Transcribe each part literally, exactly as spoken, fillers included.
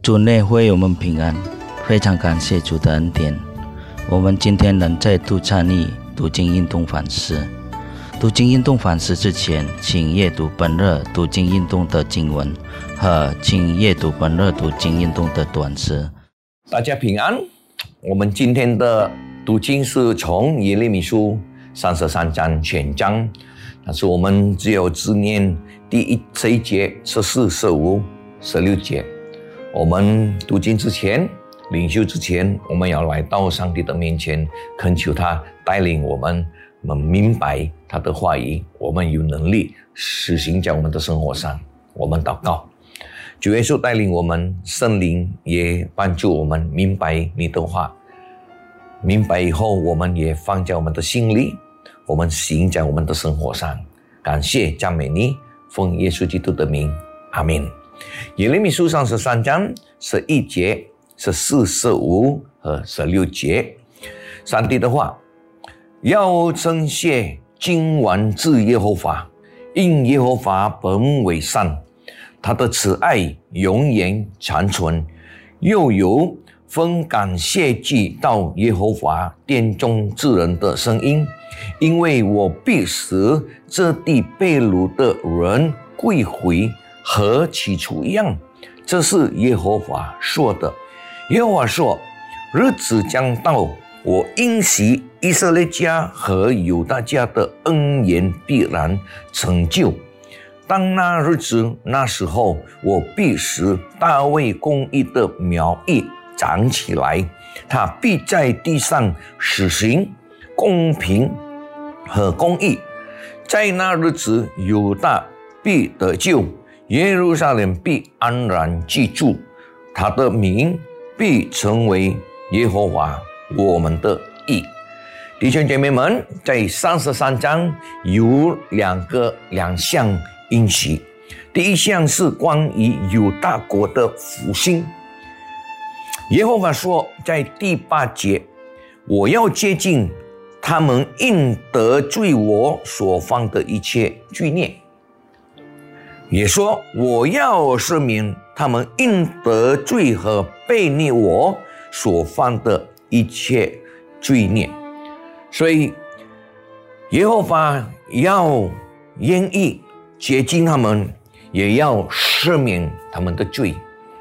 主内会我们平安，非常感谢主的恩典。我们今天能再度参与读经运动反思。读经运动反思之前，请阅读本日读经运动的经文和请阅读本日读经运动的短诗。 大家平安。我们今天的读经是从耶利米书三十三章全章，但是我们只有只念第一这一节十四、十五、十六节。我们读经之前，领袖之前，我们要来到上帝的面前，恳求他带领我们，我们明白他的话语，我们有能力实行在我们的生活上。我们祷告，主耶稣带领我们，圣灵也帮助我们明白你的话，明白以后我们也放在我们的心里，我们行在我们的生活上。感谢赞美你，奉耶稣基督的名，阿们。耶利米书三十三章十一节、十四、十五和十六节，上帝的话：要称谢君王至耶和华，因耶和华本为善，他的慈爱永远长存。又有分感谢祭到耶和华殿中之人的声音，因为我必使这地被掳的人归回，和起初一样。这是耶和华说的。耶和华说：日子将到，我应许以色列家和犹大家的恩言必然成就。当那日子，那时候，我必使大卫公义的苗裔长起来，他必在地上实行公平和公义。在那日子，犹大必得救，耶路撒冷必安然居住，他的名必成为耶和华我们的义。弟兄姐妹们，在三十三章有两个两项应许。第一项是关于犹大国的复兴。耶和华说，在第八节：我要接近他们因得罪我所犯的一切罪孽。也说，我要赦免他们因得罪和背逆我所犯的一切罪孽。所以耶和华要愿意接近他们，也要赦免他们的罪。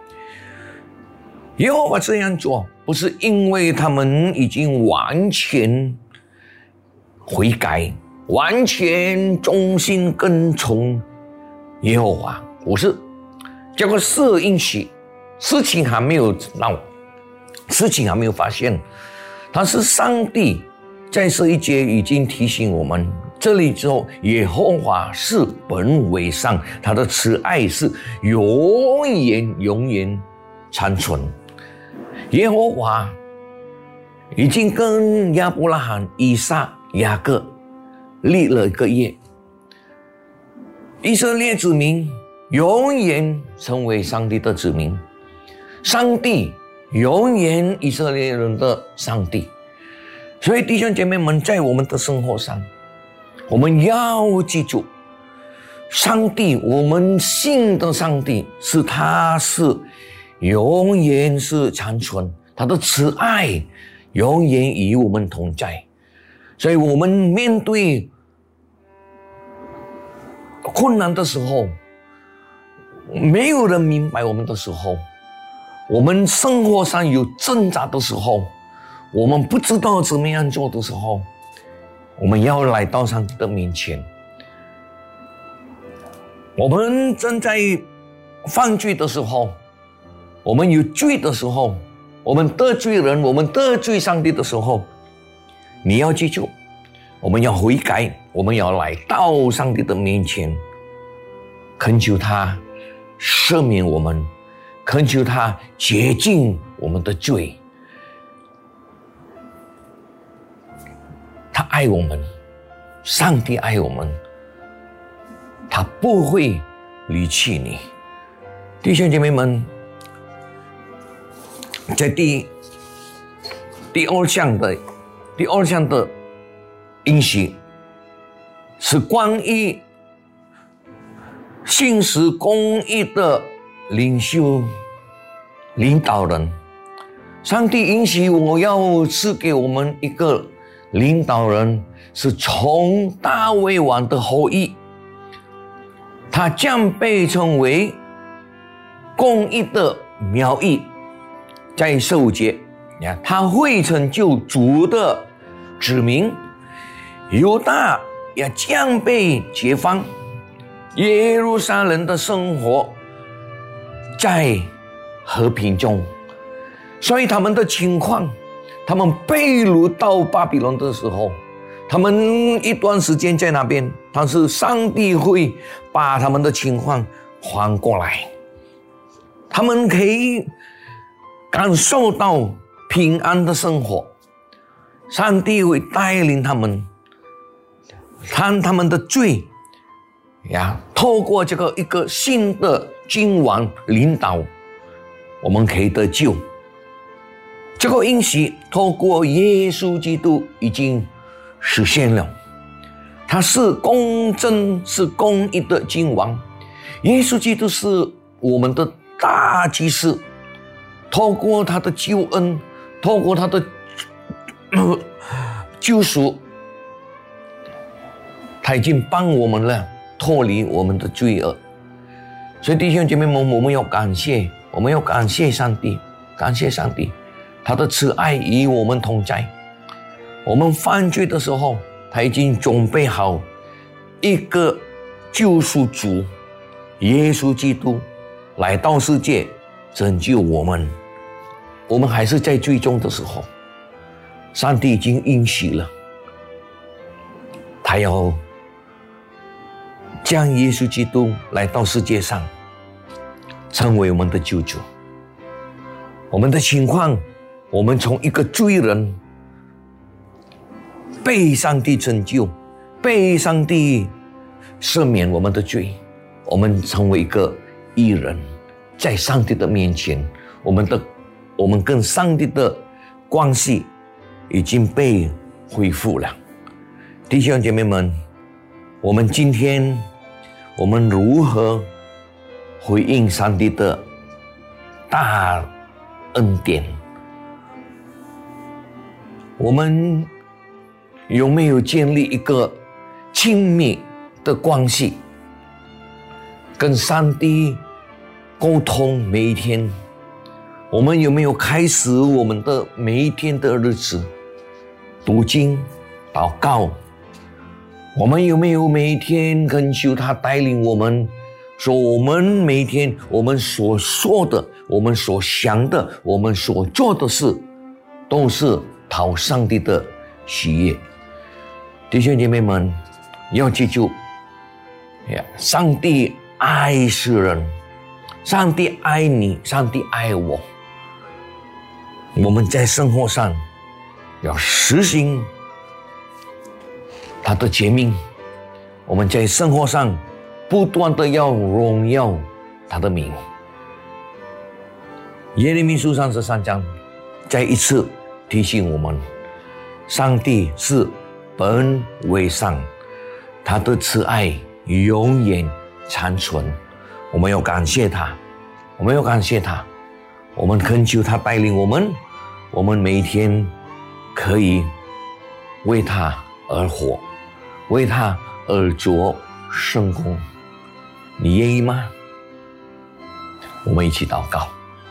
耶和华这样做，不是因为他们已经完全悔改，完全忠心跟从耶和华，不是。这个是应许，事情还没有闹，事情还没有发现，但是上帝在这一节已经提醒我们，这里之后，耶和华是本为善，他的慈爱是永远永远长存。耶和华已经跟亚伯拉罕、以撒、雅各立了一个约，以色列子民永远成为上帝的子民，上帝永远以色列人的上帝。所以弟兄姐妹们，在我们的生活上，我们要记住，上帝，我们信的上帝是他是永远是长存，他的慈爱永远与我们同在。所以我们面对困难的时候，没有人明白我们的时候，我们生活上有挣扎的时候，我们不知道怎么样做的时候，我们要来到上帝的面前。我们正在犯罪的时候，我们有罪的时候，我们得罪人，我们得罪上帝的时候，你要记住，我们要悔改，我们要来到上帝的面前，恳求他赦免我们，恳求他洁净我们的罪。他爱我们，上帝爱我们，他不会离弃你。弟兄姐妹们，在第第二项的第二项的应许是关于信实公义的领袖领导人。上帝允许我要赐给我们一个领导人，是从大卫王的后裔，他将被称为公义的苗裔。在十五节，他会成就主的子民，犹大也将被解放，耶路撒冷的生活在和平中。所以他们的情况，他们被掳到巴比伦的时候，他们一段时间在那边，但是上帝会把他们的情况还过来，他们可以感受到平安的生活。上帝会带领他们，看他们的罪呀，透过这个一个新的君王领导，我们可以得救。这个应许透过耶稣基督已经实现了，他是公正是公义的君王。耶稣基督是我们的大祭司，透过他的救恩，透过他的救赎，他已经帮我们了脱离我们的罪恶。所以弟兄姐妹们，我们要感谢，我们要感谢上帝，感谢上帝，他的慈爱与我们同在。我们犯罪的时候，他已经准备好一个救赎主耶稣基督来到世界拯救我们。我们还是在罪中的时候，上帝已经应许了，他要将耶稣基督来到世界上，成为我们的救主。我们的情况，我们从一个罪人被上帝拯救，被上帝赦免我们的罪，我们成为一个义人，在上帝的面前，我们的我们跟上帝的关系已经被恢复了。弟兄姐妹们，我们今天我们如何回应上帝的大恩典？我们有没有建立一个亲密的关系，跟上帝沟通每一天？我们有没有开始我们的每一天的日子读经祷告？我们有没有每一天恳求他带领我们，说我们每一天我们所说的，我们所想的，我们所做的事，都是讨上帝的喜悦？弟兄姐妹们，要记住，上帝爱世人，上帝爱你，上帝爱我。我们在生活上要实行他的诫命，我们在生活上不断的要荣耀他的名。耶利米书三十三章再一次提醒我们，上帝是本为上，他的慈爱永远长存。我们要感谢他，我们要感谢他，我们恳求他带领我们，我们每一天可以为他而活，为他而做圣工。你愿意吗？我们一起祷告。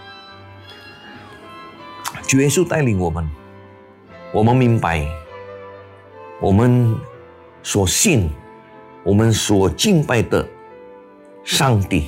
主耶稣带领我们，我们明白，我们所信，我们所敬拜的上帝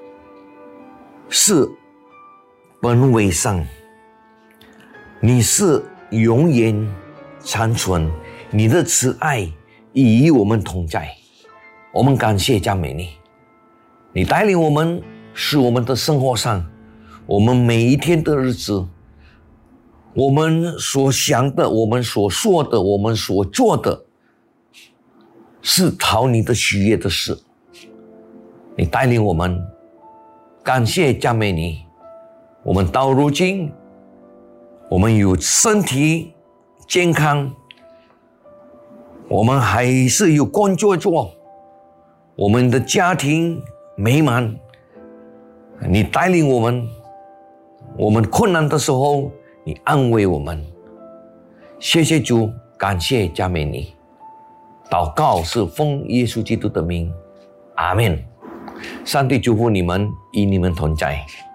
是本为上，你是永远长存，你的慈爱与我们同在。我们感谢赞美你，你带领我们，使我们的生活上，我们每一天的日子，我们所想的，我们所说的，我们所做的，是讨你的喜悦的事。你带领我们，感谢赞美你。我们到如今，我们有身体健康，我们还是有工作做，我们的家庭美满。你带领我们， 我们困难的时候，你安慰我们。谢谢主，感谢赞美你。祷告是奉耶稣基督的名，阿们。上帝祝福你们，与你们同在。